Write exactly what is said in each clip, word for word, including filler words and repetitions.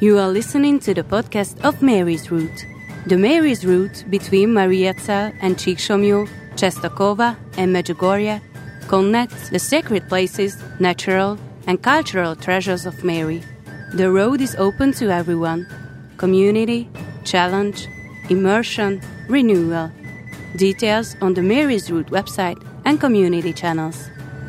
You are listening to the podcast of Mary's Route. The Mary's Route between Mariazell and Csíksomlyó, Czestochowa and Medjugorje connects the sacred places, natural and cultural treasures of Mary. The road is open to everyone. Community, challenge, immersion, renewal. Details on the Mary's Route website and community channels.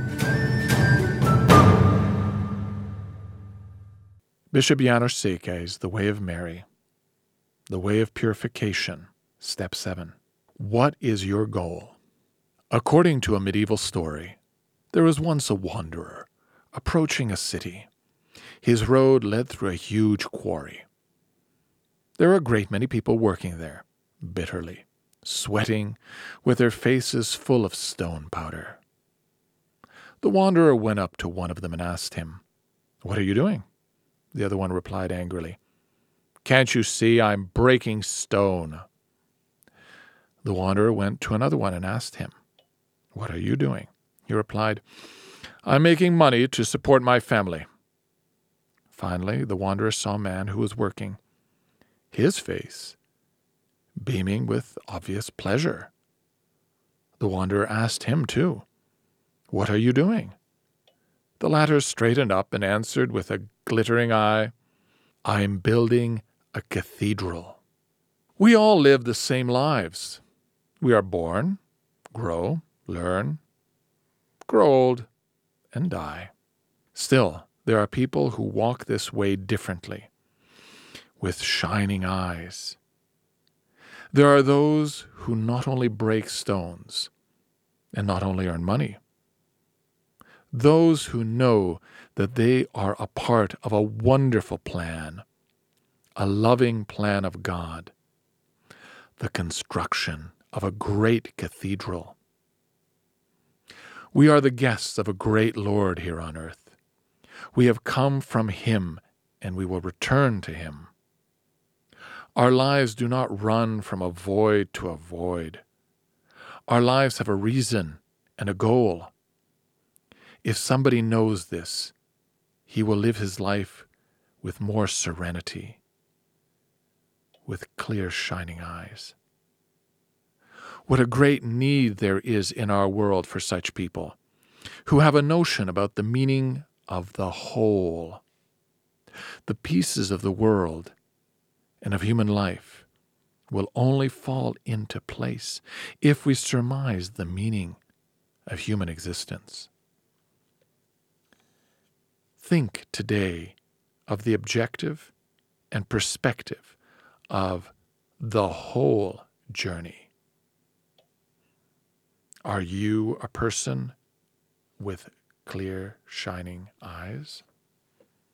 Bishop János Székely's The Way of Mary, The Way of Purification, Step seven. What is your goal? According to a medieval story, there was once a wanderer approaching a city. His road led through a huge quarry. There were a great many people working there, bitterly, sweating, with their faces full of stone powder. The wanderer went up to one of them and asked him, "What are you doing?" The other one replied angrily, "Can't you see I'm breaking stone?" The wanderer went to another one and asked him, "What are you doing?" He replied, "I'm making money to support my family." Finally, the wanderer saw a man who was working, his face beaming with obvious pleasure. The wanderer asked him too, "What are you doing?" The latter straightened up and answered with a glittering eye, "I'm building a cathedral." We all live the same lives. We are born, grow, learn, grow old, and die. Still, there are people who walk this way differently, with shining eyes. There are those who not only break stones, and not only earn money, those who know that they are a part of a wonderful plan, a loving plan of God, the construction of a great cathedral. We are the guests of a great Lord here on earth. We have come from Him, and we will return to Him. Our lives do not run from a void to a void. Our lives have a reason and a goal. If somebody knows this, he will live his life with more serenity, with clear, shining eyes. What a great need there is in our world for such people who have a notion about the meaning of the whole. The pieces of the world and of human life will only fall into place if we surmise the meaning of human existence. Think today of the objective and perspective of the whole journey. Are you a person with clear, shining eyes?